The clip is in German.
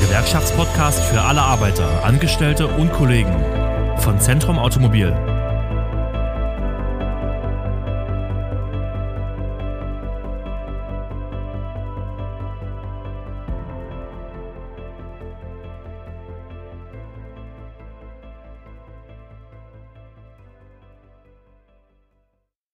Gewerkschaftspodcast für alle Arbeiter, Angestellte und Kollegen von Zentrum Automobil.